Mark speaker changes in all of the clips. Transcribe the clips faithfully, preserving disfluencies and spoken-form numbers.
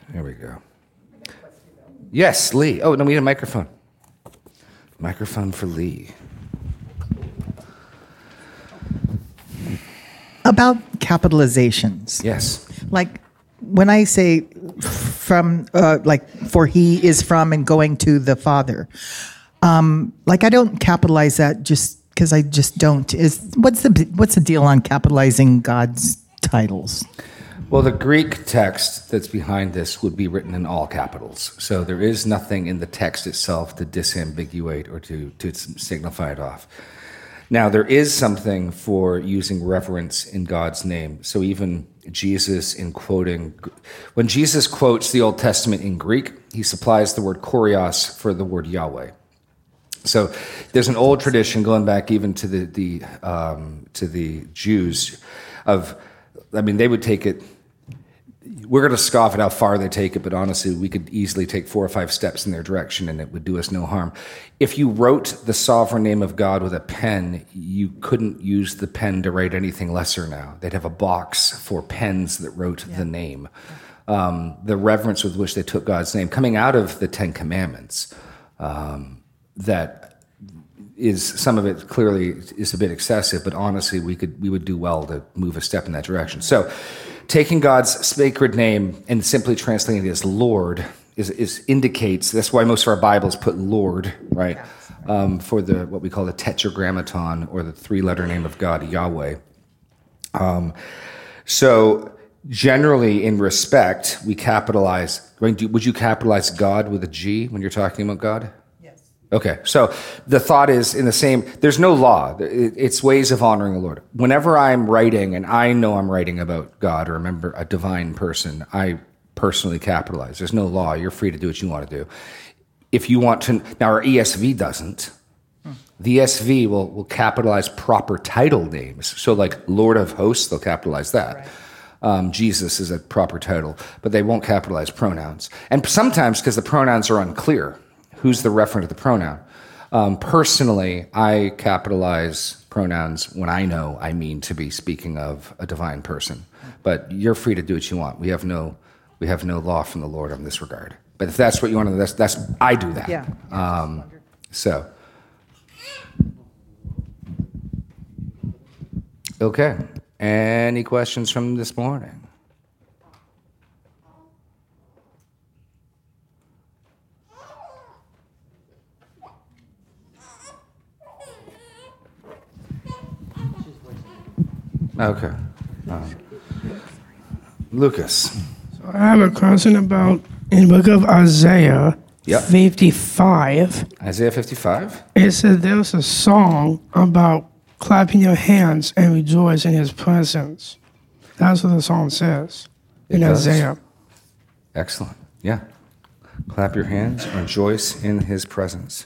Speaker 1: There we go. Yes, Lee. Oh, no, we need a microphone. Microphone for Lee.
Speaker 2: About capitalizations.
Speaker 1: Yes.
Speaker 2: Like when I say from, uh, like for he is from and going to the Father, um, like I don't capitalize that just because I just don't. Is what's the what's the deal on capitalizing God's titles?
Speaker 1: Well, the Greek text that's behind this would be written in all capitals. So there is nothing in the text itself to disambiguate or to, to signify it off. Now, there is something for using reverence in God's name. So even Jesus in quoting, when Jesus quotes the Old Testament in Greek, he supplies the word kurios for the word Yahweh. So there's an old tradition going back even to the, the um, to the Jews of, I mean, they would take it, we're going to scoff at how far they take it, but honestly, we could easily take four or five steps in their direction and it would do us no harm. If you wrote the sovereign name of God with a pen, you couldn't use the pen to write anything lesser now. They'd have a box for pens that wrote yeah. the name. Um, the reverence with which they took God's name, coming out of the Ten Commandments, um, that is, some of it clearly is a bit excessive, but honestly, we could we would do well to move a step in that direction. So, taking God's sacred name and simply translating it as Lord is, is indicates, that's why most of our Bibles put Lord, right, um, for the what we call the tetragrammaton, or the three-letter name of God, Yahweh. Um, so generally, in respect, we capitalize, would you capitalize God with a G when you're talking about God? Okay, so the thought is in the same, there's no law. It's ways of honoring the Lord. Whenever I'm writing, and I know I'm writing about God or remember a divine person, I personally capitalize. There's no law. You're free to do what you want to do. If you want to, now our E S V doesn't. The E S V will, will capitalize proper title names. So like Lord of Hosts, they'll capitalize that. Right. Um, Jesus is a proper title, but they won't capitalize pronouns. And sometimes because the pronouns are unclear, who's the referent of the pronoun? Um, personally, I capitalize pronouns when I know I mean to be speaking of a divine person. But you're free to do what you want. We have no, we have no law from the Lord in this regard. But if that's what you want to, that's, that's I do that.
Speaker 2: Yeah.
Speaker 1: Um, so, okay. Any questions from this morning? Okay. Um, Lucas.
Speaker 3: So I have a question about in the book of Isaiah
Speaker 1: yep.
Speaker 3: fifty-five.
Speaker 1: Isaiah fifty-five?
Speaker 3: It said there's a song about clapping your hands and rejoice in his presence. That's what the song says in Isaiah.
Speaker 1: Excellent. Yeah. Clap your hands and rejoice in his presence.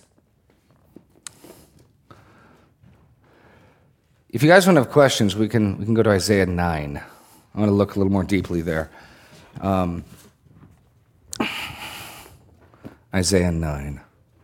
Speaker 1: If you guys don't have questions, we can we can go to Isaiah nine. I want to look a little more deeply there. Um, Isaiah nine.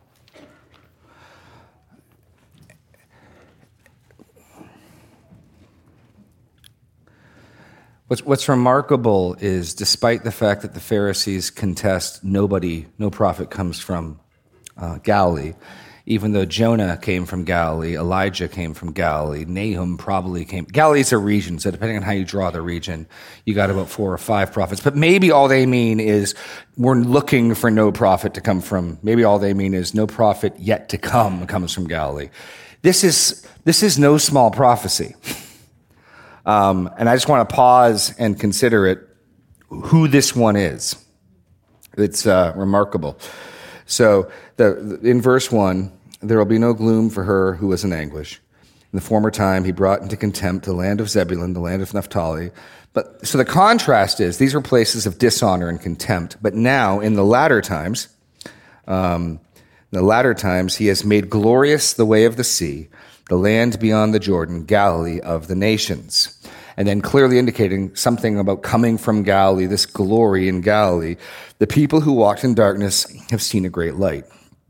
Speaker 1: What's what's remarkable is, despite the fact that the Pharisees contest nobody, no prophet comes from uh, Galilee. Even though Jonah came from Galilee, Elijah came from Galilee, Nahum probably came. Galilee's a region, so depending on how you draw the region, you got about four or five prophets. But maybe all they mean is we're looking for no prophet to come from. Maybe all they mean is no prophet yet to come comes from Galilee. This is this is no small prophecy, um, and I just want to pause and consider it. Who this one is? It's uh, remarkable. So the, in verse one. There will be no gloom for her who was in anguish. In the former time, he brought into contempt the land of Zebulun, the land of Naphtali. But so the contrast is these were places of dishonor and contempt. But now, in the latter times, um, in the latter times, he has made glorious the way of the sea, the land beyond the Jordan, Galilee of the nations. And then clearly indicating something about coming from Galilee, this glory in Galilee. The people who walked in darkness have seen a great light.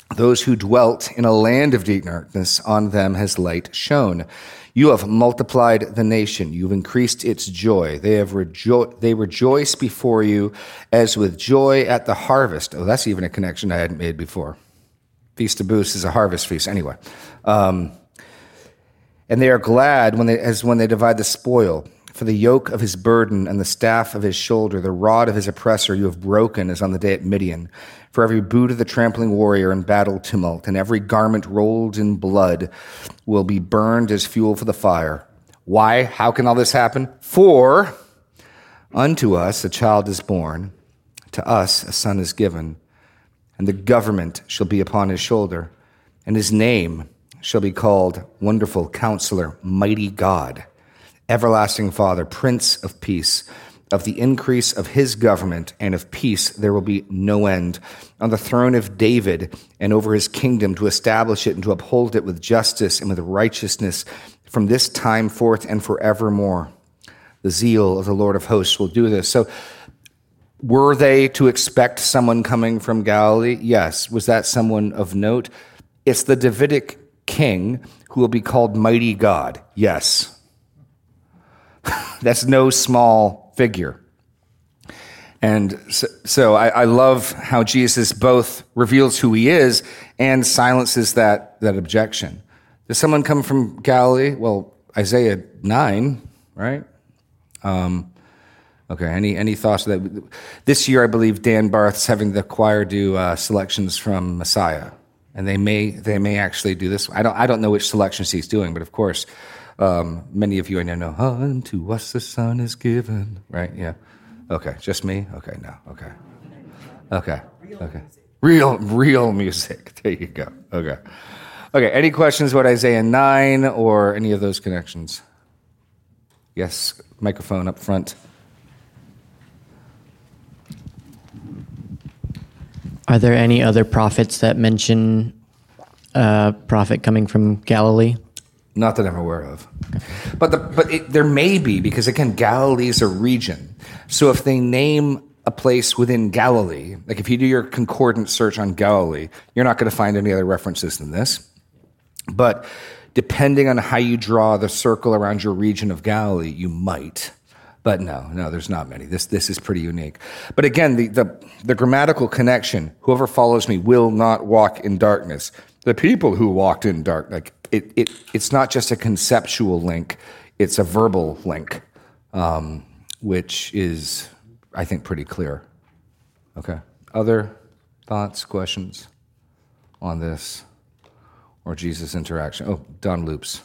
Speaker 1: Those who dwelt in a land of deep darkness, on them has light shone. You have multiplied the nation. You've increased its joy. They have rejo- they rejoice before you as with joy at the harvest. Oh, that's even a connection I hadn't made before. Feast of Booths is a harvest feast. Anyway. Um, and they are glad when they, as when they divide the spoil. For the yoke of his burden and the staff of his shoulder, the rod of his oppressor you have broken as on the day at Midian. For every boot of the trampling warrior in battle tumult, and every garment rolled in blood will be burned as fuel for the fire. Why? How can all this happen? For unto us a child is born, to us a son is given, and the government shall be upon his shoulder, and his name shall be called Wonderful Counselor, Mighty God, Everlasting Father, Prince of Peace. Of the increase of his government and of peace there will be no end. On the throne of David and over his kingdom, to establish it and to uphold it with justice and with righteousness from this time forth and forevermore. The zeal of the Lord of hosts will do this. So were they to expect someone coming from Galilee? Yes. Was that someone of note? It's the Davidic king who will be called Mighty God. Yes. That's no small figure. And so, so I, I love how Jesus both reveals who he is and silences that, that objection. Does someone come from Galilee? Well, Isaiah nine, right? Um, okay, any any thoughts of that? This year, I believe Dan Barth's having the choir do uh, selections from Messiah. And they may they may actually do this. I don't I don't know which selections he's doing, but of course, Um, many of you I know know, unto us the Son is given, right? Yeah. Okay, just me? Okay, no, okay. Okay, okay. Real, real music. There you go. Okay. Okay, any questions about Isaiah nine or any of those connections? Yes, microphone up front.
Speaker 4: Are there any other prophets that mention a prophet coming from Galilee?
Speaker 1: Not that I'm aware of. But the, but it, there may be, because again, Galilee is a region. So if they name a place within Galilee, like if you do your concordant search on Galilee, you're not going to find any other references than this. But depending on how you draw the circle around your region of Galilee, you might. But no, no, there's not many. This this is pretty unique. But again, the, the, the grammatical connection, whoever follows me will not walk in darkness. The people who walked in dark, like it, it, it's not just a conceptual link, it's a verbal link, um, which is, I think, pretty clear. Okay. Other thoughts, questions on this or Jesus' interaction? Oh, Don Loops.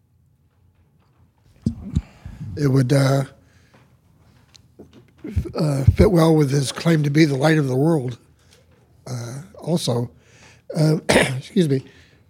Speaker 5: It would uh, uh, fit well with his claim to be the light of the world. Uh, also, uh, excuse me.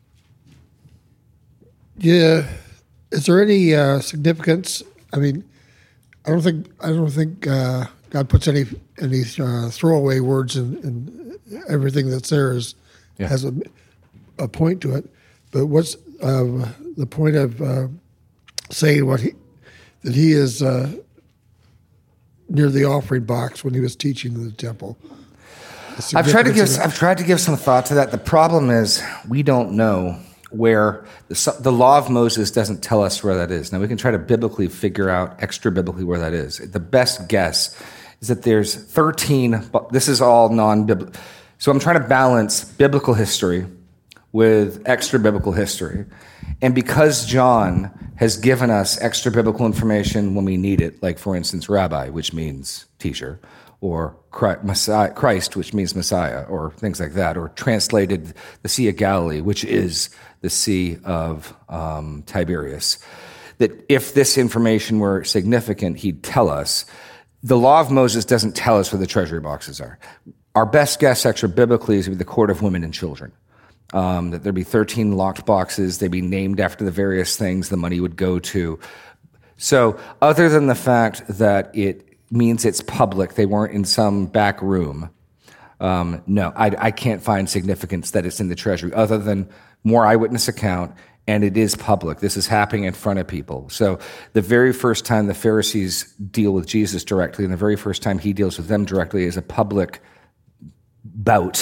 Speaker 5: Yeah, is there any uh, significance? I mean, I don't think I don't think uh, God puts any any uh, throwaway words in, in everything that's there is
Speaker 1: Yeah.
Speaker 5: has a, a point to it. But what's uh, the point of uh, saying what he that he is uh, near the offering box when he was teaching in the temple? The
Speaker 1: I've tried to give
Speaker 5: significance of that.
Speaker 1: I've tried to give some thought to that. The problem is we don't know where the, the law of Moses doesn't tell us where that is. Now we can try to biblically figure out extra biblically where that is. The best guess is that there's thirteen. This is all non-biblical. So I'm trying to balance biblical history with extra biblical history. And because John has given us extra biblical information when we need it, like for instance, rabbi, which means teacher, or Christ, Messiah, Christ, which means Messiah, or things like that, or translated the Sea of Galilee, which is the Sea of um, Tiberias, that if this information were significant, he'd tell us. The law of Moses doesn't tell us where the treasury boxes are. Our best guess, extra biblically, is the court of women and children. Um, that there'd be thirteen locked boxes. They'd be named after the various things the money would go to. So other than the fact that it means it's public, they weren't in some back room, um, no, I, I can't find significance that it's in the treasury, other than more eyewitness account, and it is public. This is happening in front of people. So the very first time the Pharisees deal with Jesus directly, and the very first time he deals with them directly, is a public bout.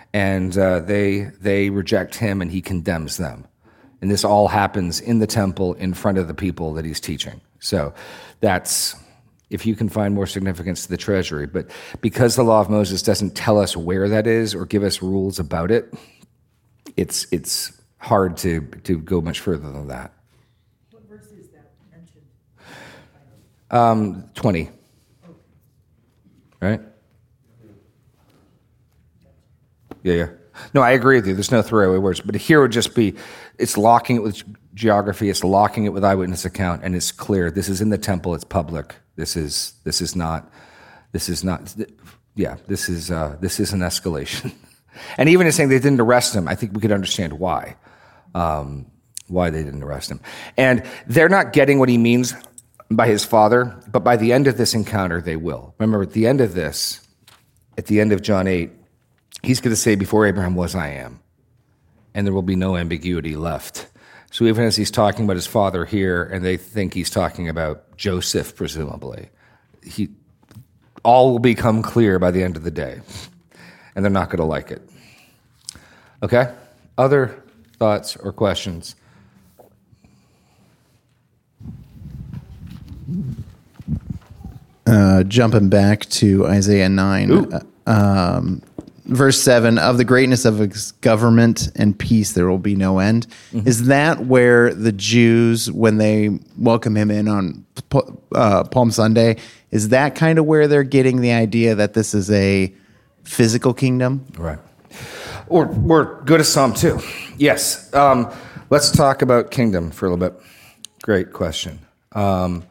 Speaker 1: and uh, they they reject him, and he condemns them. And this all happens in the temple in front of the people that he's teaching. So that's, if you can find more significance to the treasury. But because the law of Moses doesn't tell us where that is or give us rules about it, it's it's hard to, to go much further than that.
Speaker 2: What verse is that mentioned?
Speaker 1: Um, twenty. Right? Yeah, yeah. No, I agree with you. There's no throwaway words. But here would just be, it's locking it with geography, it's locking it with eyewitness account, and it's clear. This is in the temple, it's public. This is this is not, this is not, yeah, this is uh, this is an escalation. And even in saying they didn't arrest him, I think we could understand why. Um, why they didn't arrest him. And they're not getting what he means by his father, but by the end of this encounter, they will. Remember, at the end of this, at the end of John eight, he's going to say, before Abraham was, I am. And there will be no ambiguity left. So even as he's talking about his father here, and they think he's talking about Joseph, presumably, he, all will become clear by the end of the day. And they're not going to like it. Okay? Other thoughts or questions?
Speaker 6: Uh, jumping back to Isaiah nine. Uh, um, Verse seven, of the greatness of his government and peace there will be no end. Mm-hmm. Is that where the Jews, when they welcome him in on uh, Palm Sunday, is that kind of where they're getting the idea that this is a physical kingdom?
Speaker 1: Right. Or, or go to Psalm two. Yes. Um, let's talk about kingdom for a little bit. Great question. Um,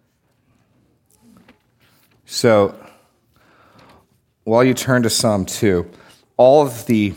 Speaker 1: so... While you turn to Psalm two, all of the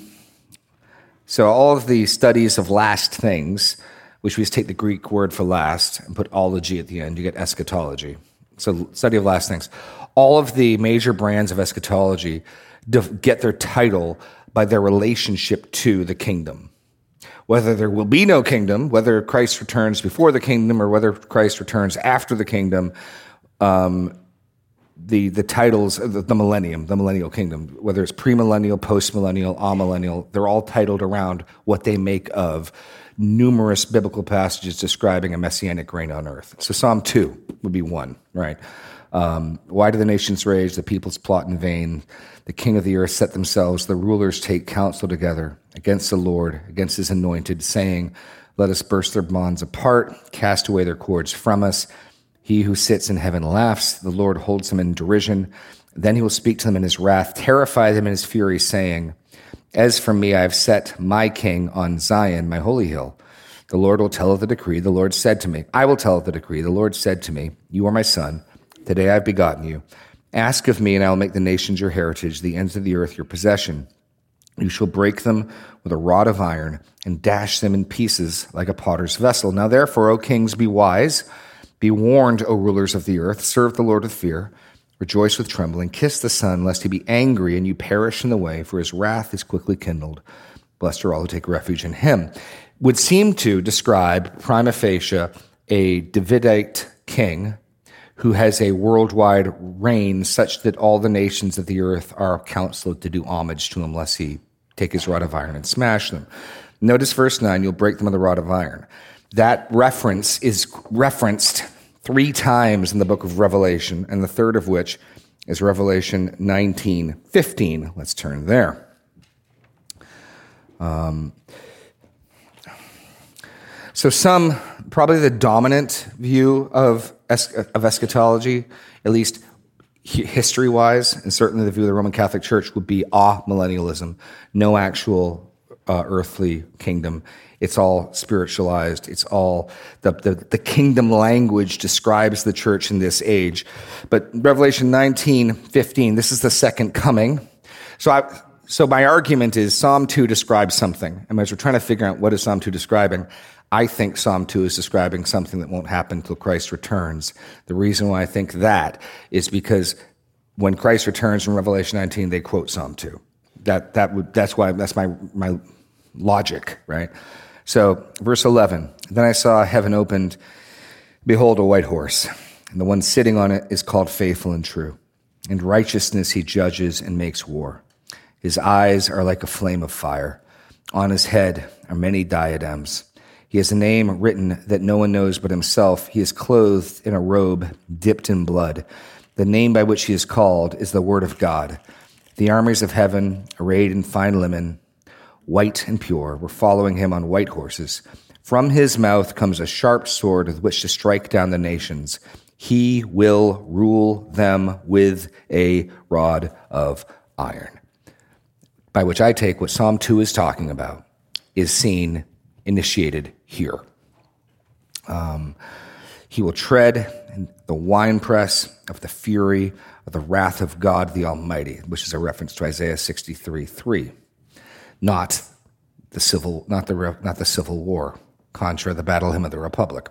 Speaker 1: so all of the studies of last things, which we just take the Greek word for last and put ology at the end, you get eschatology. So study of last things. All of the major brands of eschatology get their title by their relationship to the kingdom. Whether there will be no kingdom, whether Christ returns before the kingdom, or whether Christ returns after the kingdom, um, the the titles, the, the millennium, the millennial kingdom, whether it's premillennial, postmillennial, amillennial, they're all titled around what they make of numerous biblical passages describing a messianic reign on earth. So Psalm two would be one, right? Um, Why do the nations rage, the peoples plot in vain? The king of the earth set themselves, the rulers take counsel together against the Lord, against his anointed, saying, let us burst their bonds apart, cast away their cords from us. He who sits in heaven laughs. The Lord holds him in derision. Then he will speak to them in his wrath, terrify them in his fury, saying, as for me, I have set my king on Zion, my holy hill. The Lord will tell of the decree. The Lord said to me, I will tell of the decree. The Lord said to me, you are my son. Today I have begotten you. Ask of me, and I will make the nations your heritage, the ends of the earth your possession. You shall break them with a rod of iron and dash them in pieces like a potter's vessel. Now therefore, O kings, be wise. Be warned, O rulers of the earth, serve the Lord with fear, rejoice with trembling, kiss the Son, lest he be angry and you perish in the way, for his wrath is quickly kindled. Blessed are all who take refuge in him. Would seem to describe prima facie a Davidite king who has a worldwide reign such that all the nations of the earth are counseled to do homage to him, lest he take his rod of iron and smash them. Notice verse nine, you'll break them with a rod of iron. That reference is referenced three times in the book of Revelation, and the third of which is Revelation nineteen fifteen. Let's turn there. Um, so some, probably the dominant view of, es- of eschatology, at least history-wise, and certainly the view of the Roman Catholic Church, would be amillennialism, no actual uh, earthly kingdom. It's all spiritualized. It's all, the, the, the kingdom language describes the church in this age. But Revelation nineteen fifteen, this is the second coming. So I, so my argument is Psalm two describes something. And as we're trying to figure out what is Psalm two describing, I think Psalm two is describing something that won't happen until Christ returns. The reason why I think that is because when Christ returns in Revelation nineteen, they quote Psalm two. That, that would, that's why, that's my, my logic, right? So, verse eleven, then I saw heaven opened, behold, a white horse, and the one sitting on it is called Faithful and True. In righteousness he judges and makes war. His eyes are like a flame of fire. On his head are many diadems. He has a name written that no one knows but himself. He is clothed in a robe dipped in blood. The name by which he is called is the Word of God. The armies of heaven, arrayed in fine linen, white and pure, were following him on white horses. From his mouth comes a sharp sword with which to strike down the nations. He will rule them with a rod of iron. By which I take what Psalm two is talking about is seen, initiated here. Um, he will tread in the winepress of the fury of the wrath of God the Almighty, which is a reference to Isaiah sixty-three three. Not the civil, not the not the Civil War, contra the battle hymn of the Republic.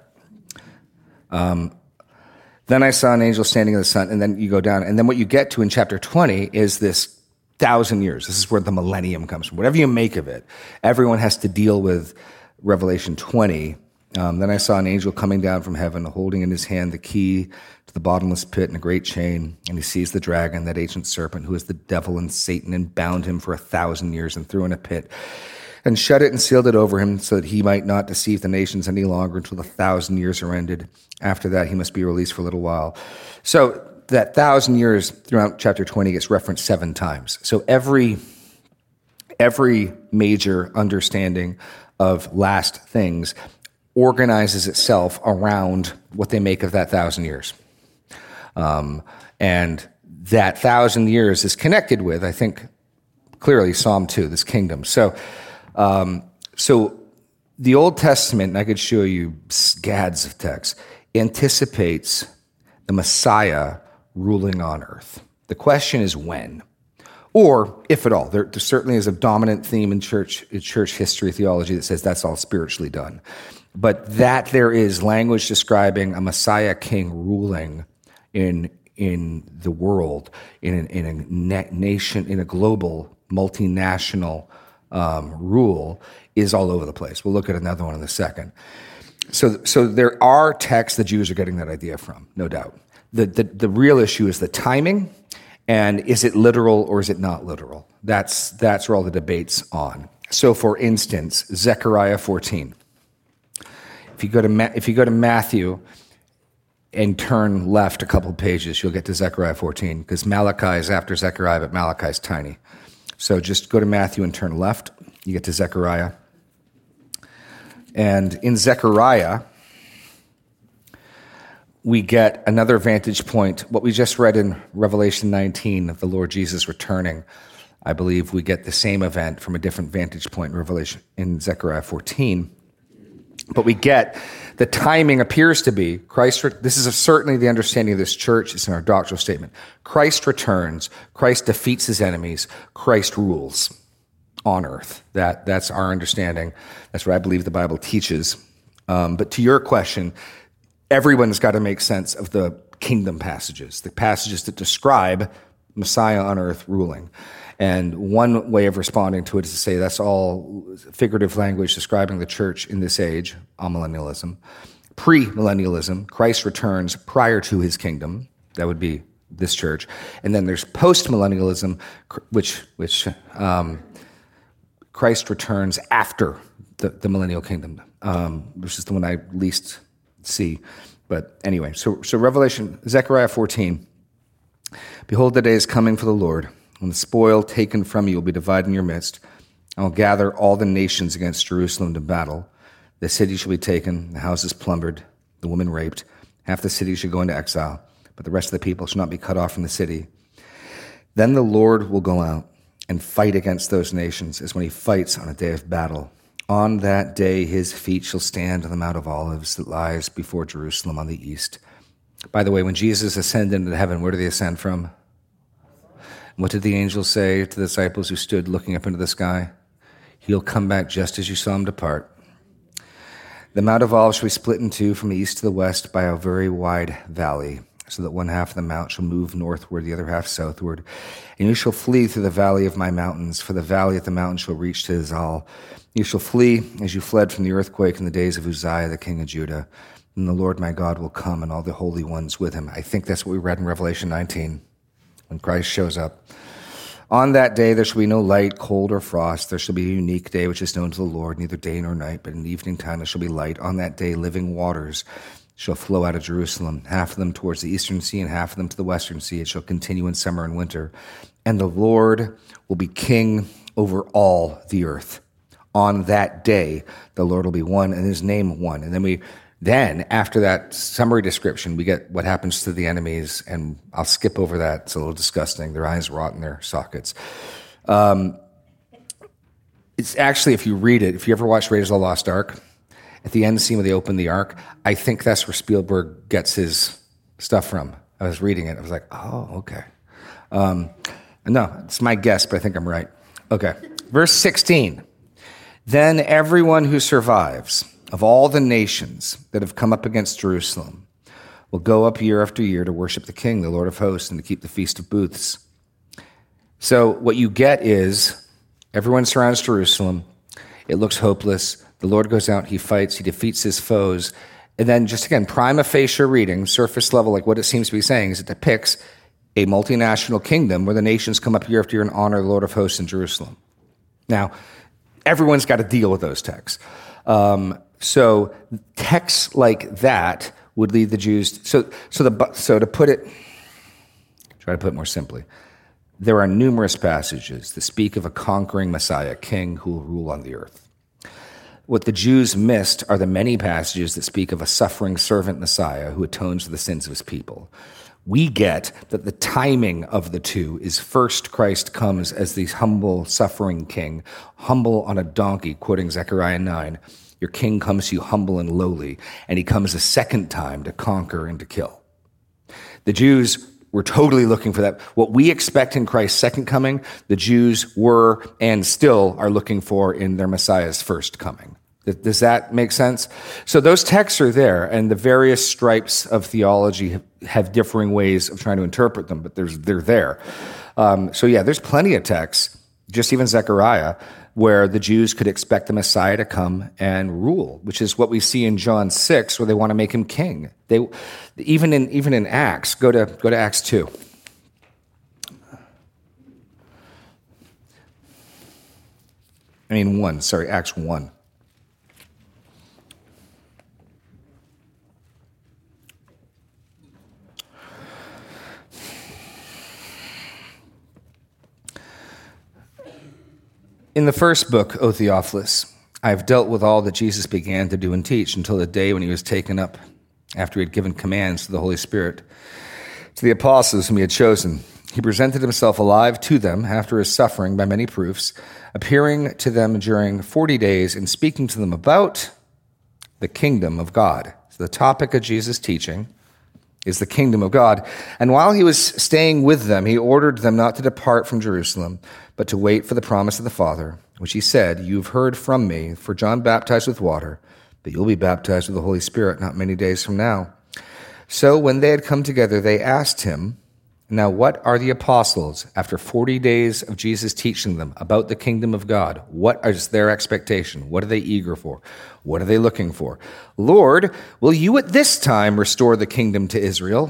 Speaker 1: Um, then I saw an angel standing in the sun, and then you go down, and then what you get to in chapter twenty is this thousand years. This is where the millennium comes from. Whatever you make of it, everyone has to deal with Revelation twenty. Um, then I saw an angel coming down from heaven, holding in his hand the key to the bottomless pit and a great chain. And he seized the dragon, that ancient serpent, who is the devil and Satan, and bound him for a thousand years and threw in a pit, and shut it and sealed it over him, so that he might not deceive the nations any longer until the thousand years are ended. After that, he must be released for a little while. So that thousand years throughout chapter twenty gets referenced seven times. So every every major understanding of last things organizes itself around what they make of that thousand years. Um, and that thousand years is connected with, I think, clearly Psalm two, this kingdom. So, um, so the Old Testament, and I could show you scads of text, anticipates the Messiah ruling on earth. The question is when, or if at all. There, there certainly is a dominant theme in church, in church history theology that says that's all spiritually done. But that there is language describing a Messiah king ruling in in the world, in an, in a na- nation, in a global, multinational um, rule, is all over the place. We'll look at another one in a second. So, so there are texts the Jews are getting that idea from, no doubt. The, the the real issue is the timing, and is it literal or is it not literal? That's that's where all the debate's on. So, for instance, Zechariah fourteen. If you go to Ma- if you go to Matthew and turn left a couple of pages, you'll get to Zechariah fourteen, because Malachi is after Zechariah, but Malachi is tiny. So just go to Matthew and turn left. You get to Zechariah. And in Zechariah, we get another vantage point. What we just read in Revelation nineteen of the Lord Jesus returning, I believe we get the same event from a different vantage point in Revelation in Zechariah fourteen. But we get the timing appears to be Christ. This is certainly the understanding of this church. It's in our doctrinal statement. Christ returns. Christ defeats his enemies. Christ rules on earth. That that's our understanding. That's what I believe the Bible teaches. Um, but to your question, everyone's got to make sense of the kingdom passages, the passages that describe Messiah on earth ruling. And one way of responding to it is to say that's all figurative language describing the church in this age, amillennialism. Pre-millennialism, Christ returns prior to his kingdom. That would be this church. And then there's post-millennialism, which which um, Christ returns after the, the millennial kingdom, um, which is the one I least see. But anyway, so so Revelation, Zechariah fourteen. Behold, the day is coming for the Lord, when the spoil taken from you will be divided in your midst. I will gather all the nations against Jerusalem to battle. The city shall be taken, the houses plundered, the women raped. Half the city shall go into exile, but the rest of the people shall not be cut off from the city. Then the Lord will go out and fight against those nations, as when he fights on a day of battle. On that day his feet shall stand on the Mount of Olives that lies before Jerusalem on the east. By the way, when Jesus ascended into heaven, where did he ascend from? What did the angel say to the disciples who stood looking up into the sky? He'll come back just as you saw him depart. The Mount of Olives shall be split in two from the east to the west by a very wide valley, so that one half of the mount shall move northward, the other half southward. And you shall flee through the valley of my mountains, for the valley of the mountain shall reach to Zal. You shall flee as you fled from the earthquake in the days of Uzziah, the king of Judah. And the Lord my God will come, and all the holy ones with him. I think that's what we read in Revelation nineteen, when Christ shows up On that day there shall be no light, cold, or frost. There shall be a unique day which is known to the Lord, neither day nor night, but in the evening time there shall be light. On that day living waters shall flow out of Jerusalem, half of them towards the eastern sea and half of them to the western sea. It shall continue in summer and winter. And the Lord will be king over all the earth. On that day the Lord will be one, and his name one. And then we Then, after that summary description, we get what happens to the enemies, and I'll skip over that. It's a little disgusting. Their eyes rot in their sockets. Um, it's actually, if you read it, if you ever watch Raiders of the Lost Ark, at the end scene where they open the Ark, I think that's where Spielberg gets his stuff from. I was reading it. I was like, oh, okay. Um, no, it's my guess, but I think I'm right. Okay. Verse sixteen. Then everyone who survives of all the nations that have come up against Jerusalem will go up year after year to worship the King, the Lord of hosts, and to keep the Feast of Booths. So what you get is everyone surrounds Jerusalem. It looks hopeless. The Lord goes out, he fights, he defeats his foes. And then just again, prima facie reading, surface level, like what it seems to be saying is it depicts a multinational kingdom where the nations come up year after year and honor the Lord of hosts in Jerusalem. Now, everyone's got to deal with those texts. Um, So texts like that would lead the Jews. So, so the so to put it, try to put it more simply, there are numerous passages that speak of a conquering Messiah, king who will rule on the earth. What the Jews missed are the many passages that speak of a suffering servant Messiah who atones for the sins of his people. We get that the timing of the two is first Christ comes as the humble, suffering king, humble on a donkey, quoting Zechariah nine. Your king comes to you humble and lowly, and he comes a second time to conquer and to kill. The Jews were totally looking for that. What we expect in Christ's second coming, the Jews were and still are looking for in their Messiah's first coming. Does that make sense? So those texts are there, and the various stripes of theology have differing ways of trying to interpret them, but there's, they're there. Um, so yeah, there's plenty of texts, just even Zechariah, where the Jews could expect the Messiah to come and rule, which is what we see in John six, where they want to make him king. They, even in even in Acts, go to go to Acts two. I mean one, sorry, Acts one. In the first book, O Theophilus, I have dealt with all that Jesus began to do and teach until the day when he was taken up, after he had given commands to the Holy Spirit, to the apostles whom he had chosen. He presented himself alive to them after his suffering by many proofs, appearing to them during forty days and speaking to them about the kingdom of God. So the topic of Jesus' teaching is the kingdom of God. And while he was staying with them, he ordered them not to depart from Jerusalem, but to wait for the promise of the Father, which he said, "You've heard from me, for John baptized with water, but you'll be baptized with the Holy Spirit not many days from now." So when they had come together, they asked him, "Now what are the apostles, after forty days of Jesus teaching them about the kingdom of God, what is their expectation? What are they eager for? What are they looking for? Lord, will you at this time restore the kingdom to Israel?"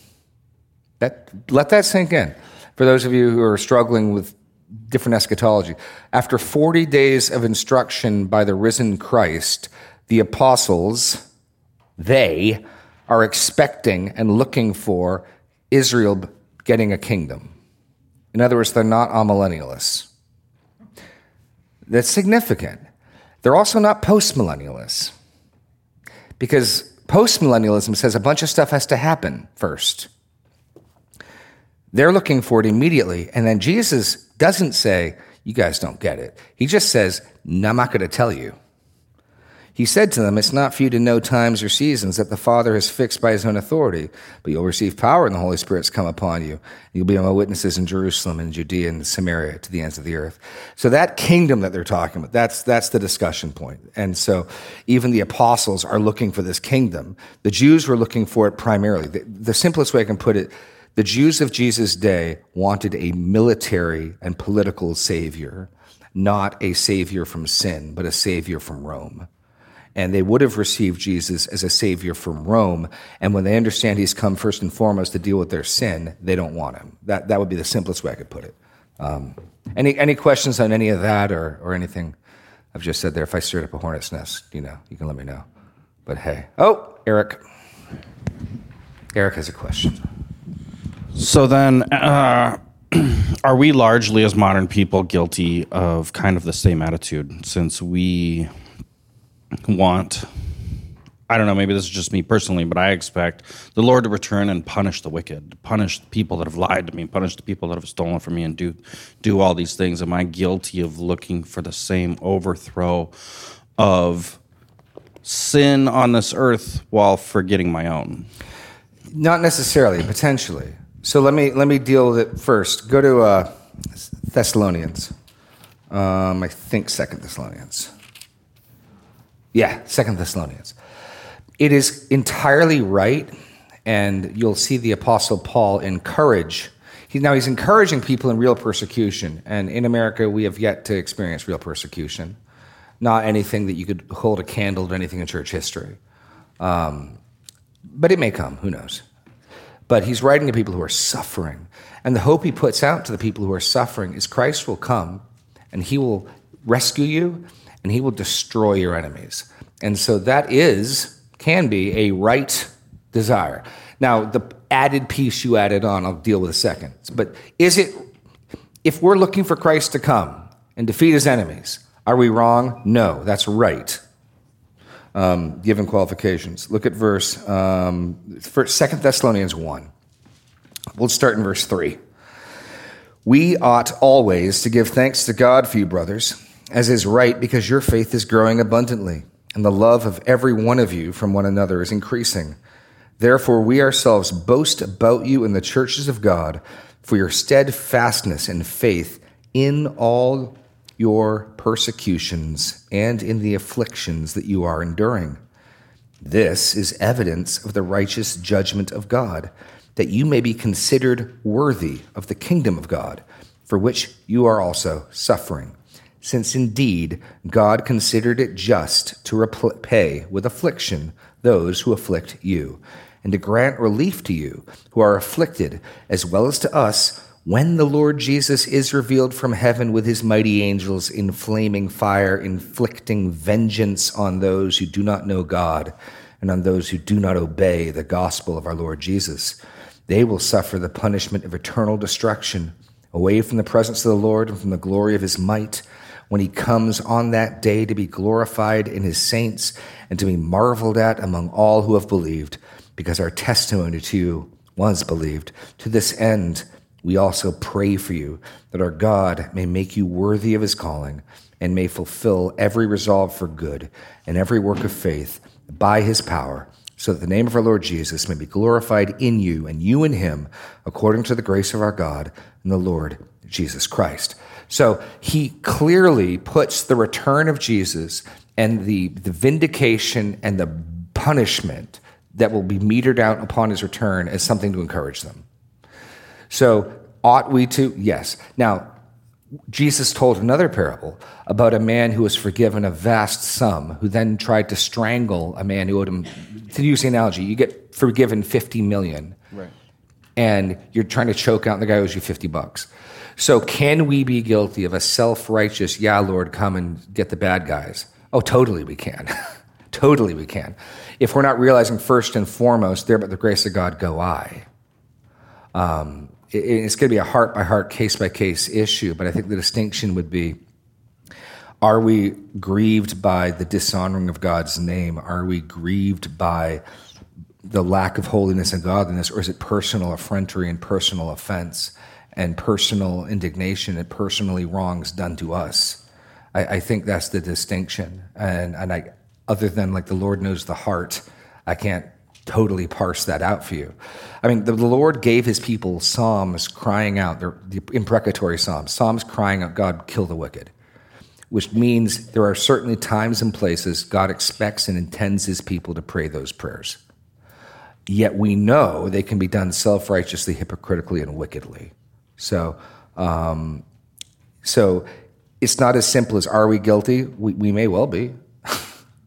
Speaker 1: That, let that sink in. For those of you who are struggling with different eschatology, after forty days of instruction by the risen Christ, the apostles, they are expecting and looking for Israel getting a kingdom. In other words, they're not amillennialists. That's significant. They're also not postmillennialists, because postmillennialism says a bunch of stuff has to happen first. They're looking for it immediately, and then Jesus doesn't say, "You guys don't get it." He just says, "No, I'm not going to tell you." He said to them, "It's not for you to know times or seasons that the Father has fixed by his own authority, but you'll receive power and the Holy Spirit's come upon you. You'll be my witnesses in Jerusalem and Judea and Samaria to the ends of the earth." So that kingdom that they're talking about, that's, that's the discussion point. And so even the apostles are looking for this kingdom. The Jews were looking for it primarily. The, the simplest way I can put it, the Jews of Jesus' day wanted a military and political savior, not a savior from sin, but a savior from Rome. And they would have received Jesus as a savior from Rome. And when they understand he's come first and foremost to deal with their sin, they don't want him. That, that would be the simplest way I could put it. Um, any any questions on any of that or or anything I've just said there? If I stirred up a hornet's nest, you know, you can let me know. But hey, oh, Eric. Eric has a question.
Speaker 7: So then, uh, are we largely, as modern people, guilty of kind of the same attitude, since we want, I don't know, maybe this is just me personally, but I expect the Lord to return and punish the wicked, punish the people that have lied to me, punish the people that have stolen from me, and do do all these things. Am I guilty of looking for the same overthrow of sin on this earth while forgetting my own?
Speaker 1: Not necessarily, potentially. So let me let me deal with it first. Go to uh, Thessalonians. Um, I think Second Thessalonians. Yeah, Second Thessalonians. It is entirely right, and you'll see the Apostle Paul encourage. He, now he's encouraging people in real persecution, and in America we have yet to experience real persecution. Not anything that you could hold a candle to anything in church history. Um, but it may come, who knows? But he's writing to people who are suffering. And the hope he puts out to the people who are suffering is Christ will come and he will rescue you and he will destroy your enemies. And so that is, can be a right desire. Now, the added piece you added on, I'll deal with a second. But is it, if we're looking for Christ to come and defeat his enemies, are we wrong? No, that's right. Um, given qualifications. Look at verse, um, Second Thessalonians one. We'll start in verse three. We ought always to give thanks to God for you, brothers, as is right, because your faith is growing abundantly, and the love of every one of you from one another is increasing. Therefore, we ourselves boast about you in the churches of God for your steadfastness and faith in all your persecutions and in the afflictions that you are enduring. This is evidence of the righteous judgment of God, that you may be considered worthy of the kingdom of God, for which you are also suffering. Since indeed God considered it just to repay with affliction those who afflict you, and to grant relief to you who are afflicted, as well as to us, when the Lord Jesus is revealed from heaven with his mighty angels in flaming fire, inflicting vengeance on those who do not know God and on those who do not obey the gospel of our Lord Jesus. They will suffer the punishment of eternal destruction, away from the presence of the Lord and from the glory of his might, when he comes on that day to be glorified in his saints and to be marveled at among all who have believed, because our testimony to you was believed. To this end, we also pray for you, that our God may make you worthy of his calling and may fulfill every resolve for good and every work of faith by his power, so that the name of our Lord Jesus may be glorified in you and you in him, according to the grace of our God and the Lord Jesus Christ. So he clearly puts the return of Jesus and the, the vindication and the punishment that will be metered out upon his return as something to encourage them. So, ought we to? Yes. Now, Jesus told another parable about a man who was forgiven a vast sum, who then tried to strangle a man who owed him. To use the analogy, you get forgiven fifty million, right? And you're trying to choke out the guy who owes you fifty bucks. So, can we be guilty of a self-righteous, yeah, Lord, come and get the bad guys? Oh, totally we can. Totally we can. If we're not realizing first and foremost, there but the grace of God go I. Um, it, it's going to be a heart-by-heart, case-by-case issue, but I think the distinction would be, are we grieved by the dishonoring of God's name? Are we grieved by the lack of holiness and godliness, or is it personal effrontery and personal offense and personal indignation and personally wrongs done to us? I, I think that's the distinction. And, and I, other than like the Lord knows the heart, I can't totally parse that out for you. I mean, the Lord gave his people psalms crying out, the imprecatory psalms, psalms crying out, God, kill the wicked, which means there are certainly times and places God expects and intends his people to pray those prayers. Yet we know they can be done self-righteously, hypocritically, and wickedly. So, um, so it's not as simple as, are we guilty? We, we may well be.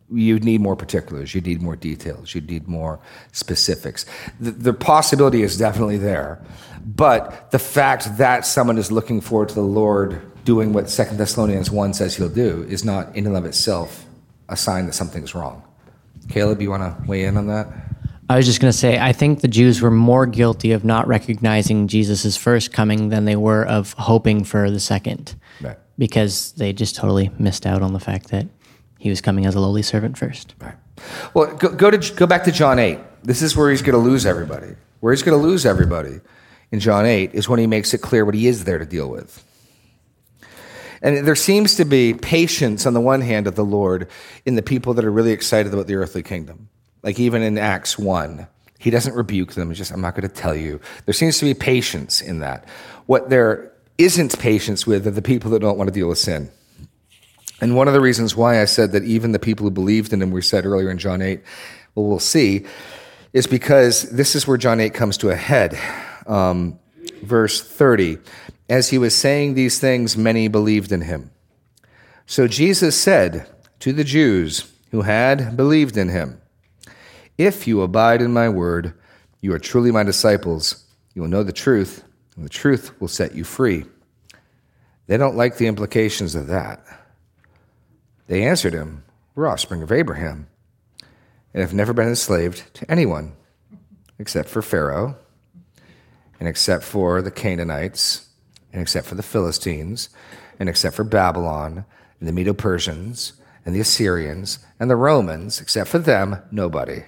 Speaker 1: you need more particulars, you need more details, you need more specifics. The, the possibility is definitely there, but the fact that someone is looking forward to the Lord doing what Second Thessalonians one says he'll do is not in and of itself a sign that something's wrong. Caleb, you want to weigh in on that?
Speaker 4: I was just going to say, I think the Jews were more guilty of not recognizing Jesus' first coming than they were of hoping for the second.
Speaker 1: Right.
Speaker 4: Because they just totally missed out on the fact that he was coming as a lowly servant first.
Speaker 1: Right. Well, go, go to go back to John eight. This is where he's going to lose everybody. Where he's going to lose everybody in John eight is when he makes it clear what he is there to deal with. And there seems to be patience on the one hand of the Lord in the people that are really excited about the earthly kingdom. Like even in Acts one, he doesn't rebuke them. He's just, I'm not going to tell you. There seems to be patience in that. What there isn't patience with are the people that don't want to deal with sin. And one of the reasons why I said that even the people who believed in him, we said earlier in John eight, well, we'll see, is because this is where John eight comes to a head. Um, verse thirty, as he was saying these things, many believed in him. So Jesus said to the Jews who had believed in him, if you abide in my word, you are truly my disciples. You will know the truth, and the truth will set you free. They don't like the implications of that. They answered him, we're offspring of Abraham, and have never been enslaved to anyone, except for Pharaoh, and except for the Canaanites, and except for the Philistines, and except for Babylon, and the Medo-Persians, and the Assyrians, and the Romans, except for them, nobody.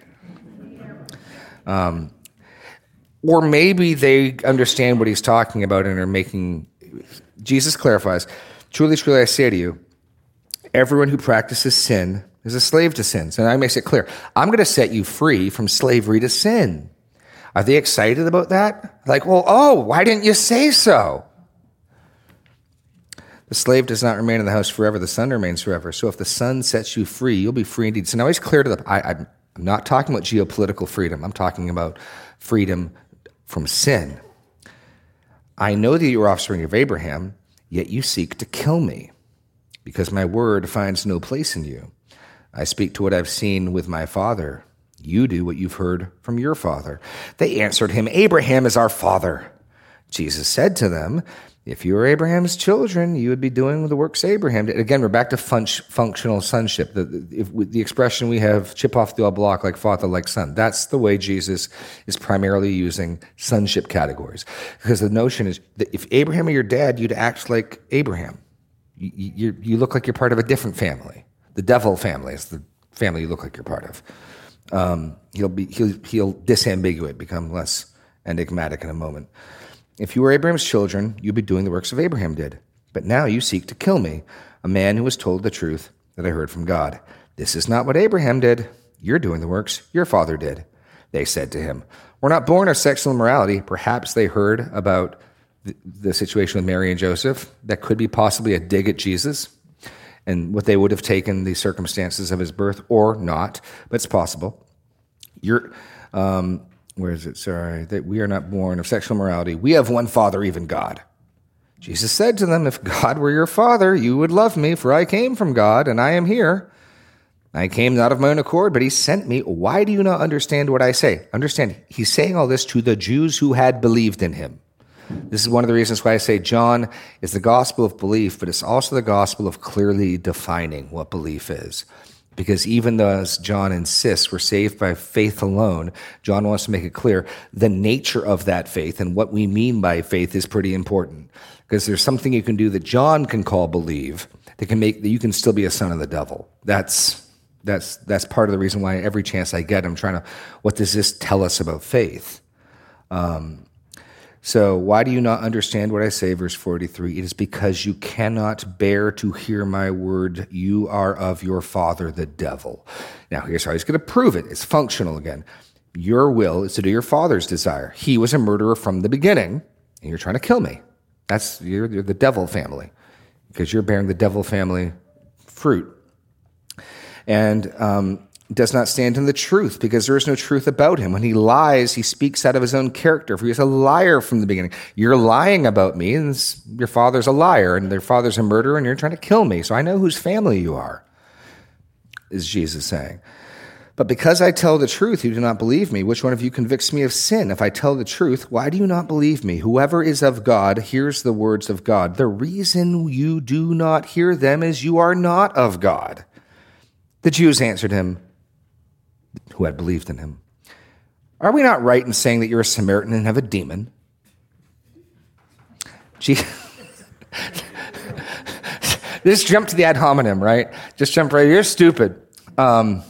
Speaker 1: Um, or maybe they understand what he's talking about and are making... Jesus clarifies, truly, truly, I say to you, everyone who practices sin is a slave to sin. So now he makes it clear, I'm going to set you free from slavery to sin. Are they excited about that? Like, well, oh, why didn't you say so? The slave does not remain in the house forever. The son remains forever. So if the son sets you free, you'll be free indeed. So now he's clear to the... I, I'm not talking about geopolitical freedom. I'm talking about freedom from sin. I know that you are offspring of Abraham, yet you seek to kill me, because my word finds no place in you. I speak to what I've seen with my father. You do what you've heard from your father. They answered him, Abraham is our father. Jesus said to them, if you were Abraham's children, you would be doing the works Abraham did. Again, we're back to fun- functional sonship. The, if, the expression we have, chip off the old block like father, like son. That's the way Jesus is primarily using sonship categories. Because the notion is that if Abraham were your dad, you'd act like Abraham. You, you, you look like you're part of a different family. The devil family is the family you look like you're part of. Um, he'll be he'll he'll disambiguate, become less enigmatic in a moment. If you were Abraham's children, you'd be doing the works of Abraham did. But now you seek to kill me, a man who was told the truth that I heard from God. This is not what Abraham did. You're doing the works your father did. They said to him, we're not born of sexual immorality. Perhaps they heard about the, the situation with Mary and Joseph. That could be possibly a dig at Jesus and what they would have taken the circumstances of his birth or not, but it's possible. You're... Um, Where is it? Sorry, that we are not born of sexual immorality. We have one Father, even God. Jesus said to them, if God were your Father, you would love me, for I came from God, and I am here. I came not of my own accord, but he sent me. Why do you not understand what I say? Understand, he's saying all this to the Jews who had believed in him. This is one of the reasons why I say John is the gospel of belief, but it's also the gospel of clearly defining what belief is. Because even though, as John insists, we're saved by faith alone, John wants to make it clear the nature of that faith and what we mean by faith is pretty important. Because there's something you can do that John can call believe that can make that you can still be a son of the devil. That's that's that's part of the reason why every chance I get, I'm trying to, what does this tell us about faith? Um, So why do you not understand what I say? Verse forty-three, it is because you cannot bear to hear my word. You are of your father, the devil. Now, here's how he's going to prove it. It's functional again. Your will is to do your father's desire. He was a murderer from the beginning, and you're trying to kill me. That's, you're, you're the devil family, because you're bearing the devil family fruit. And, um, does not stand in the truth, because there is no truth about him. When he lies, he speaks out of his own character, for he is a liar from the beginning. You're lying about me, and your father's a liar, and their father's a murderer, and you're trying to kill me, so I know whose family you are. is Jesus saying. But because I tell the truth, you do not believe me. Which one of you convicts me of sin? If I tell the truth, why do you not believe me? Whoever is of God hears the words of God. The reason you do not hear them is you are not of God. The Jews answered him, who had believed in him, are we not right in saying that you're a Samaritan and have a demon? Gee, just jump to the ad hominem, right? Just jump right. You're stupid. Um,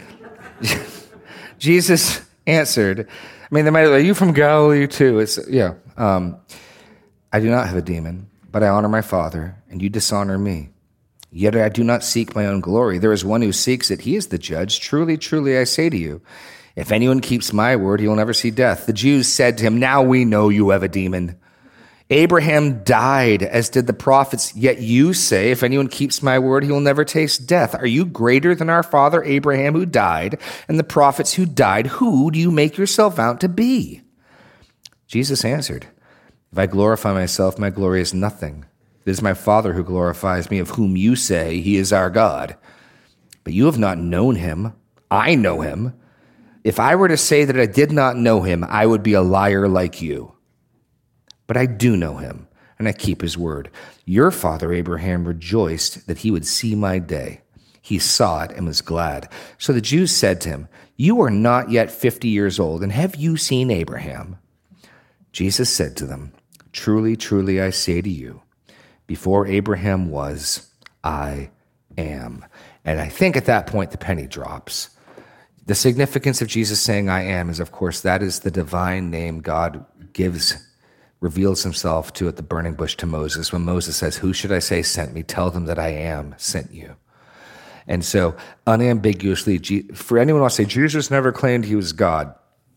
Speaker 1: Jesus answered, I mean, they might, are you from Galilee too? It's, yeah. Um, I do not have a demon, but I honor my Father, and you dishonor me. Yet I do not seek my own glory. There is one who seeks it. He is the judge. Truly, truly, I say to you, if anyone keeps my word, he will never see death. The Jews said to him, now we know you have a demon. Abraham died, as did the prophets, yet you say, if anyone keeps my word, he will never taste death. Are you greater than our father Abraham, who died, and the prophets who died? Who do you make yourself out to be? Jesus answered, if I glorify myself, my glory is nothing. It is my Father who glorifies me, of whom you say he is our God. But you have not known him. I know him. If I were to say that I did not know him, I would be a liar like you. But I do know him, and I keep his word. Your father Abraham rejoiced that he would see my day. He saw it and was glad. So the Jews said to him, you are not yet fifty years old, and have you seen Abraham? Jesus said to them, truly, truly, I say to you, before Abraham was, I am. And I think at that point the penny drops. The significance of Jesus saying I am is, of course, that is the divine name God gives, reveals himself to at the burning bush to Moses. When Moses says, who should I say sent me? Tell them that I am sent you. And so unambiguously, for anyone who wants to say Jesus never claimed he was God,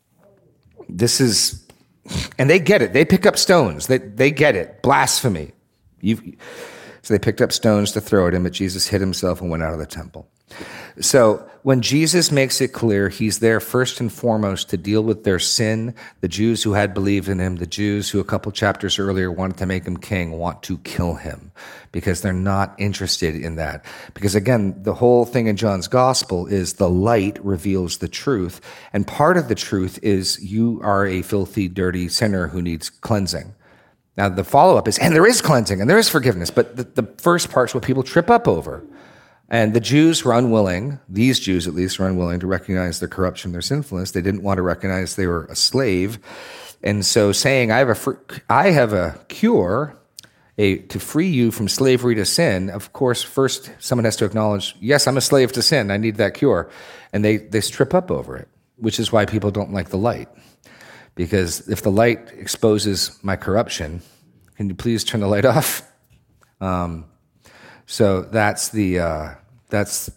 Speaker 1: this is, and they get it. They pick up stones. They, they get it. Blasphemy. You've, so they picked up stones to throw at him, but Jesus hid himself and went out of the temple. So when Jesus makes it clear he's there first and foremost to deal with their sin, the Jews who had believed in him, the Jews who a couple chapters earlier wanted to make him king, want to kill him because they're not interested in that. Because again, the whole thing in John's gospel is the light reveals the truth. And part of the truth is you are a filthy, dirty sinner who needs cleansing. Now, the follow-up is, and there is cleansing, and there is forgiveness, but the, the first part's what people trip up over. And the Jews were unwilling, these Jews at least were unwilling to recognize their corruption, their sinfulness. They didn't want to recognize they were a slave. And so saying, I have a, fr- I have a cure a, to free you from slavery to sin, of course, first someone has to acknowledge, yes, I'm a slave to sin, I need that cure. And they, they trip up over it, which is why people don't like the light. Because if the light exposes my corruption, can you please turn the light off? Um, so that's the, uh, that's,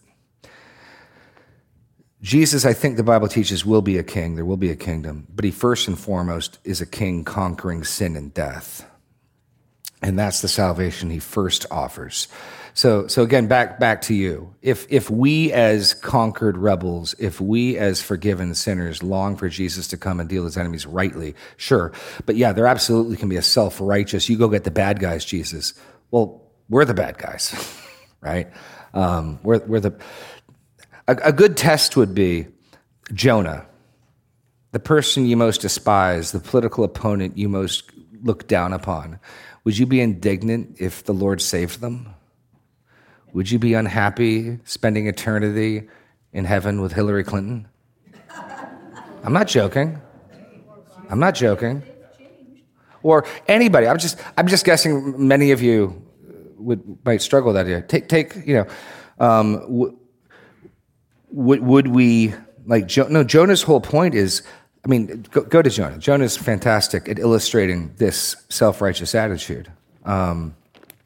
Speaker 1: Jesus, I think the Bible teaches, will be a king. There will be a kingdom. But he first and foremost is a king conquering sin and death. And that's the salvation he first offers. So, so again, back back to you. If if we as conquered rebels, if we as forgiven sinners long for Jesus to come and deal with his enemies rightly, sure. But yeah, there absolutely can be a self-righteous, you go get the bad guys, Jesus. Well, we're the bad guys, right? Um, we're, we're the... A, a good test would be Jonah, the person you most despise, the political opponent you most look down upon. Would you be indignant if the Lord saved them? Would you be unhappy spending eternity in heaven with Hillary Clinton? I'm not joking. I'm not joking. Or anybody. I'm just I'm just guessing many of you would might struggle with that idea. Take take, you know, um, w- would would we like jo- no, Jonah's whole point is, I mean, go, go to Jonah. Jonah's fantastic at illustrating this self-righteous attitude. Um,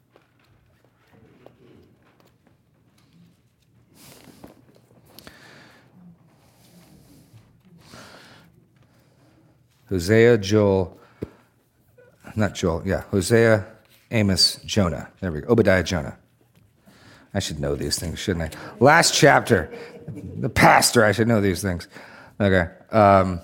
Speaker 1: Hosea, Joel, not Joel, yeah, Hosea, Amos, Jonah. There we go. Obadiah, Jonah. I should know these things, shouldn't I? Last chapter. The pastor, I should know these things. Okay. Um,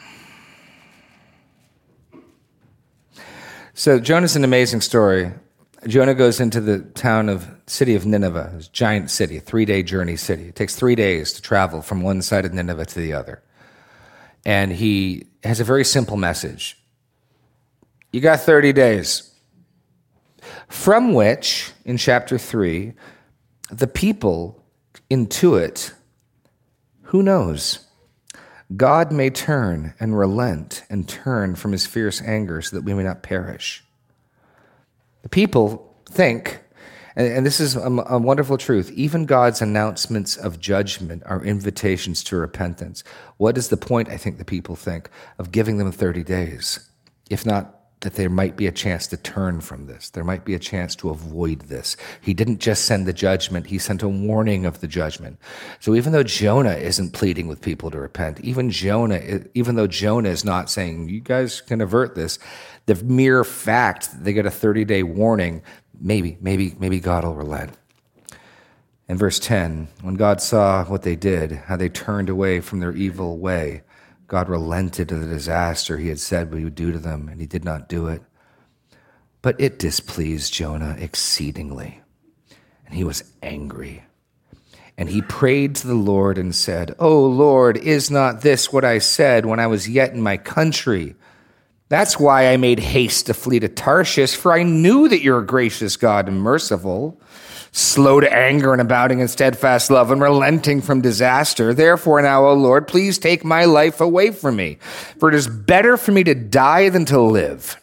Speaker 1: so Jonah's an amazing story. Jonah goes into the town of city of Nineveh, this giant city, a three-day journey city. It takes three days to travel from one side of Nineveh to the other. And he has a very simple message. You got thirty days. From which, in chapter three, the people intuit, who knows? God may turn and relent and turn from his fierce anger so that we may not perish. The people think, and, and this is a, a wonderful truth, even God's announcements of judgment are invitations to repentance. What is the point, I think the people think, of giving them thirty days? If not that there might be a chance to turn from this. There might be a chance to avoid this. He didn't just send the judgment, he sent a warning of the judgment. So even though Jonah isn't pleading with people to repent, even Jonah, even though Jonah is not saying, you guys can avert this, the mere fact that they get a thirty-day warning, maybe, maybe, maybe God will relent. In verse ten, when God saw what they did, how they turned away from their evil way, God relented of the disaster he had said what he would do to them, and he did not do it. But it displeased Jonah exceedingly, and he was angry. And he prayed to the Lord and said, O Lord, is not this what I said when I was yet in my country? That's why I made haste to flee to Tarshish, for I knew that you're a gracious God and merciful, slow to anger and abounding in steadfast love and relenting from disaster. Therefore now, O Lord, please take my life away from me, for it is better for me to die than to live.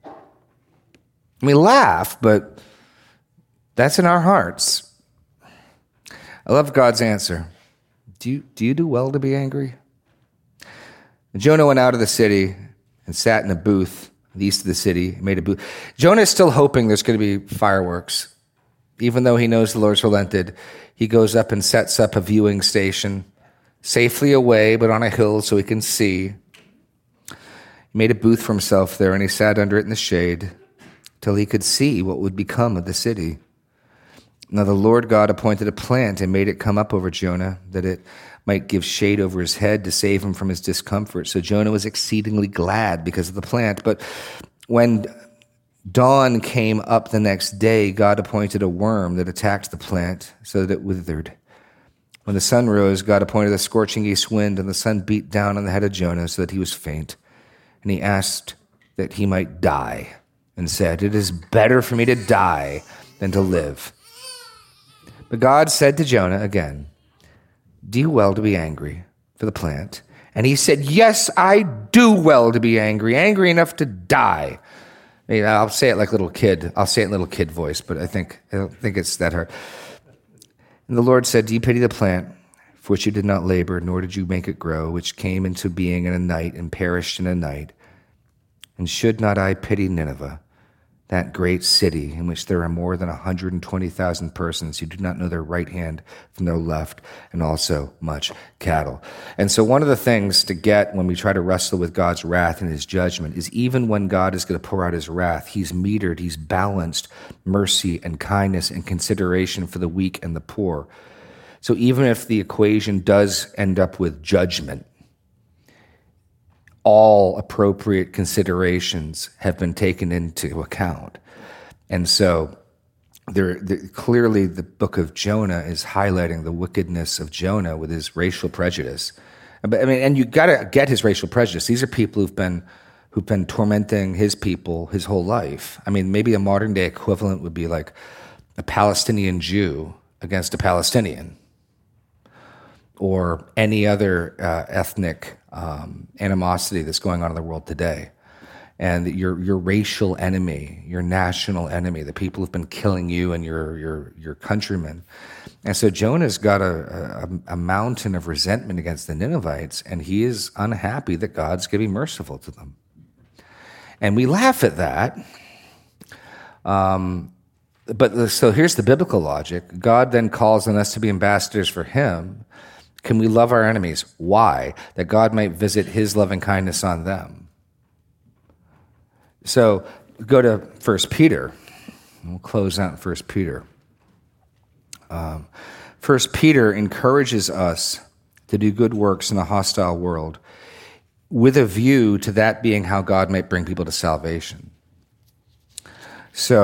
Speaker 1: We laugh, but that's in our hearts. I love God's answer. Do you, do you do well to be angry? Jonah went out of the city and sat in a booth east of the city, made a booth. Jonah is still hoping there's going to be fireworks. Even though he knows the Lord's relented, he goes up and sets up a viewing station, safely away, but on a hill so he can see. He made a booth for himself there, and he sat under it in the shade till he could see what would become of the city. Now the Lord God appointed a plant and made it come up over Jonah, that it might give shade over his head to save him from his discomfort. So Jonah was exceedingly glad because of the plant. But when dawn came up the next day, God appointed a worm that attacked the plant so that it withered. When the sun rose, God appointed a scorching east wind, and the sun beat down on the head of Jonah so that he was faint. And he asked that he might die and said, it is better for me to die than to live. But God said to Jonah again, do well to be angry for the plant. And he said, yes, I do well to be angry, angry enough to die. I'll say it like little kid. I'll say it in little kid voice, but I think I don't think it's that hard. And the Lord said, do you pity the plant for which you did not labor, nor did you make it grow, which came into being in a night and perished in a night? And should not I pity Nineveh, that great city in which there are more than one hundred twenty thousand persons who do not know their right hand from their left, and also much cattle. And so one of the things to get when we try to wrestle with God's wrath and his judgment is even when God is going to pour out his wrath, he's metered, he's balanced mercy and kindness and consideration for the weak and the poor. So even if the equation does end up with judgment, all appropriate considerations have been taken into account. And so there, there, clearly the book of Jonah is highlighting the wickedness of Jonah with his racial prejudice. But, I mean, and you got to get his racial prejudice. These are people who've been who've been tormenting his people his whole life. I mean, maybe a modern day equivalent would be like a Palestinian Jew against a Palestinian, or any other uh, ethnic um, animosity that's going on in the world today. And your your racial enemy, your national enemy, the people who've been killing you and your your your countrymen. And so Jonah's got a, a, a mountain of resentment against the Ninevites, and he is unhappy that God's going to be merciful to them. And we laugh at that. Um, but so here's the biblical logic. God then calls on us to be ambassadors for him. Can we love our enemies? Why? That God might visit his loving kindness on them. So go to First Peter. We'll close out in First Peter. Um, First Peter encourages us to do good works in a hostile world with a view to that being how God might bring people to salvation. So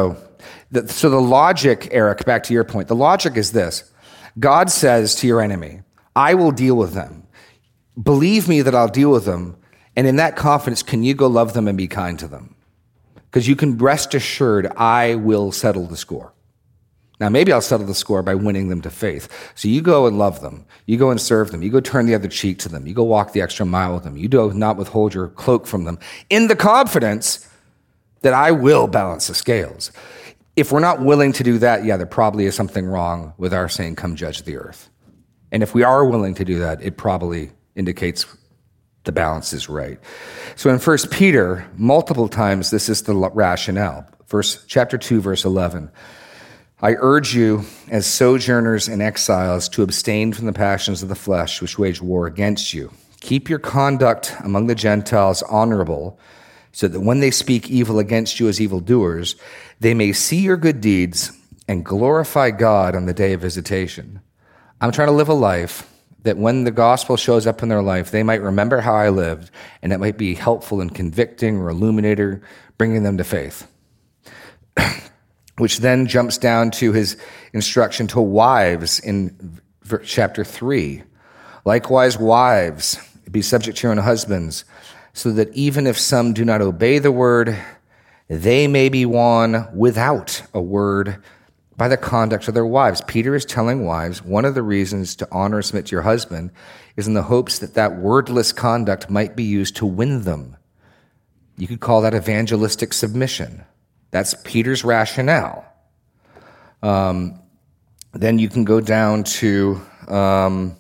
Speaker 1: The, so the logic, Eric, back to your point, the logic is this. God says to your enemy, I will deal with them. Believe me that I'll deal with them. And in that confidence, can you go love them and be kind to them? Because you can rest assured, I will settle the score. Now, maybe I'll settle the score by winning them to faith. So you go and love them. You go and serve them. You go turn the other cheek to them. You go walk the extra mile with them. You do not withhold your cloak from them in the confidence that I will balance the scales. If we're not willing to do that, yeah, there probably is something wrong with our saying, come judge the earth. And if we are willing to do that, it probably indicates the balance is right. So in First Peter, multiple times, this is the rationale. Verse, chapter two, verse eleven. I urge you, as sojourners and exiles, to abstain from the passions of the flesh, which wage war against you. Keep your conduct among the Gentiles honorable, so that when they speak evil against you as evildoers, they may see your good deeds and glorify God on the day of visitation. I'm trying to live a life that when the gospel shows up in their life, they might remember how I lived, and it might be helpful and convicting or illuminator, bringing them to faith. Which then jumps down to his instruction to wives in chapter three. Likewise, wives, be subject to your own husbands, so that even if some do not obey the word, they may be won without a word by the conduct of their wives. Peter is telling wives, one of the reasons to honor and submit to your husband is in the hopes that that wordless conduct might be used to win them. You could call that evangelistic submission. That's Peter's rationale. Um, then you can go down to um,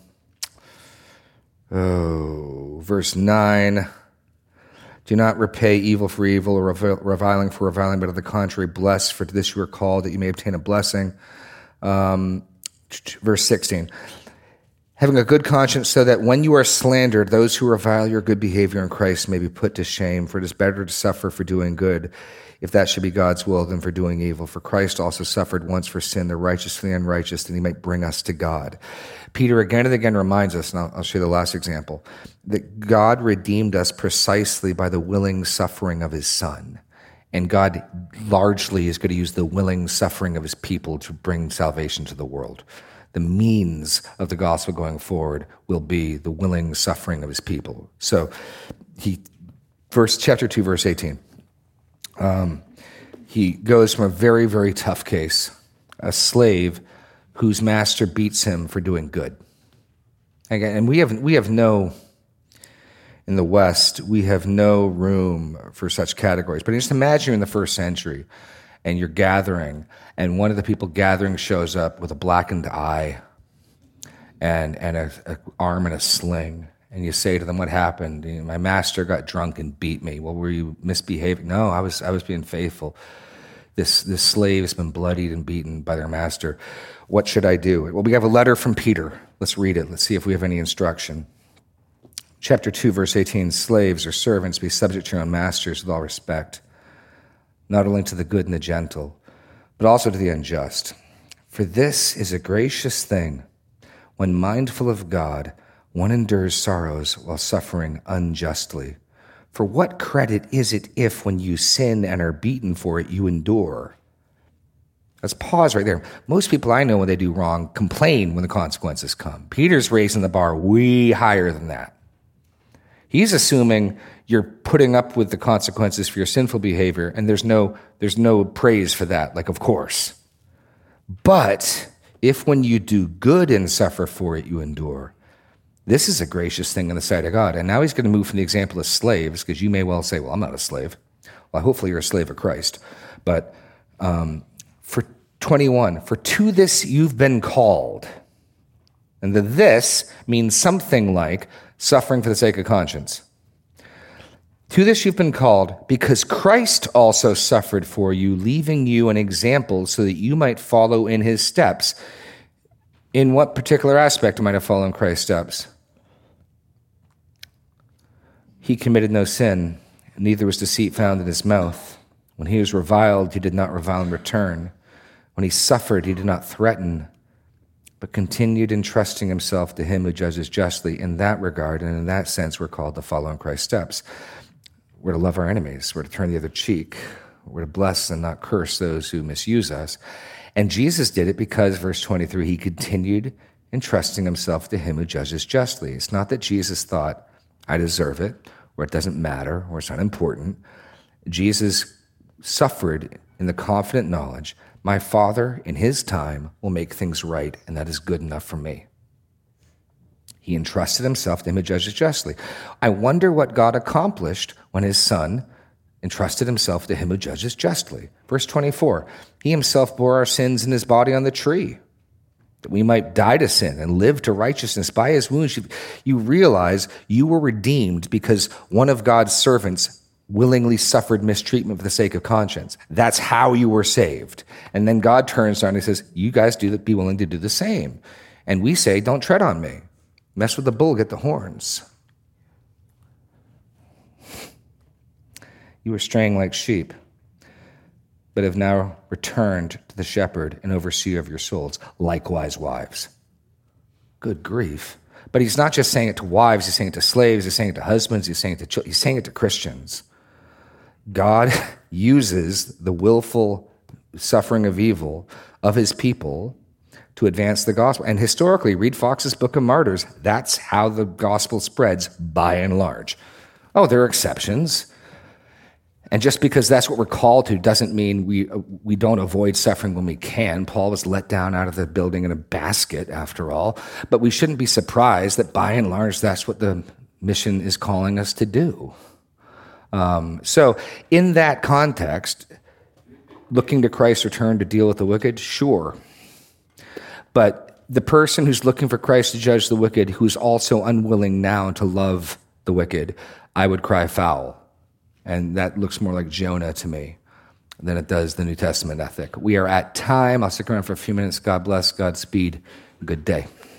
Speaker 1: oh, verse nine. Do not repay evil for evil or reviling for reviling, but on the contrary, bless, for to this you are called, that you may obtain a blessing. Um, verse sixteen. Having a good conscience, so that when you are slandered, those who revile your good behavior in Christ may be put to shame, for it is better to suffer for doing good, if that should be God's will, than for doing evil. For Christ also suffered once for sin, the righteous for the unrighteous, that he might bring us to God. Peter again and again reminds us, and I'll, I'll show you the last example, that God redeemed us precisely by the willing suffering of his Son. And God largely is going to use the willing suffering of his people to bring salvation to the world. The means of the gospel going forward will be the willing suffering of his people. So, he, verse chapter two, verse eighteen. Um, he goes from a very, very tough case, a slave whose master beats him for doing good. Again, and we have we have no, in the West, we have no room for such categories. But just imagine you're in the first century, and you're gathering, and one of the people gathering shows up with a blackened eye and and a, a arm in a sling. And you say to them, what happened? You know, my master got drunk and beat me. Well, were you misbehaving? No, I was I was being faithful. This this slave has been bloodied and beaten by their master. What should I do? Well, we have a letter from Peter. Let's read it. Let's see if we have any instruction. Chapter two, verse eighteen, slaves or servants, be subject to your own masters with all respect, not only to the good and the gentle, but also to the unjust. For this is a gracious thing, when mindful of God, one endures sorrows while suffering unjustly. For what credit is it if, when you sin and are beaten for it, you endure? Let's pause right there. Most people I know, when they do wrong, complain when the consequences come. Peter's raising the bar way higher than that. He's assuming you're putting up with the consequences for your sinful behavior, and there's no, there's no praise for that, like, of course. But if when you do good and suffer for it, you endure, this is a gracious thing in the sight of God. And now he's going to move from the example of slaves, because you may well say, well, I'm not a slave. Well, hopefully you're a slave of Christ. But um, for twenty-one, for to this you've been called. And the this means something like suffering for the sake of conscience. To this you've been called, because Christ also suffered for you, leaving you an example so that you might follow in his steps. In what particular aspect am I to follow in Christ's steps? He committed no sin, neither was deceit found in his mouth. When he was reviled, he did not revile in return. When he suffered, he did not threaten, but continued entrusting himself to him who judges justly. In that regard, and in that sense, we're called to follow in Christ's steps. We're to love our enemies. We're to turn the other cheek. We're to bless and not curse those who misuse us. And Jesus did it because, verse twenty-three, he continued entrusting himself to him who judges justly. It's not that Jesus thought, I deserve it, or it doesn't matter, or it's not important. Jesus suffered in the confident knowledge, my Father in his time will make things right, and that is good enough for me. He entrusted himself to him who judges justly. I wonder what God accomplished when his Son entrusted himself to him who judges justly. Verse twenty-four, he himself bore our sins in his body on the tree, that we might die to sin and live to righteousness. By his wounds, you, you realize you were redeemed because one of God's servants willingly suffered mistreatment for the sake of conscience. That's how you were saved. And then God turns around and he says, you guys do that, be willing to do the same. And we say, don't tread on me. Mess with the bull, get the horns. You were straying like sheep, but have now returned to the shepherd and overseer of your souls. Likewise, wives. Good grief. But he's not just saying it to wives, he's saying it to slaves, he's saying it to husbands, he's saying it to children, he's saying it to Christians. God uses the willful suffering of evil of his people to advance the gospel. And historically, read Fox's Book of Martyrs, that's how the gospel spreads by and large. Oh, there are exceptions. And just because that's what we're called to doesn't mean we we don't avoid suffering when we can. Paul was let down out of the building in a basket, after all. But we shouldn't be surprised that by and large, that's what the mission is calling us to do. Um, so in that context, looking to Christ's return to deal with the wicked, sure. But the person who's looking for Christ to judge the wicked, who's also unwilling now to love the wicked, I would cry foul. And that looks more like Jonah to me than it does the New Testament ethic. We are at time. I'll stick around for a few minutes. God bless. Godspeed. Good day.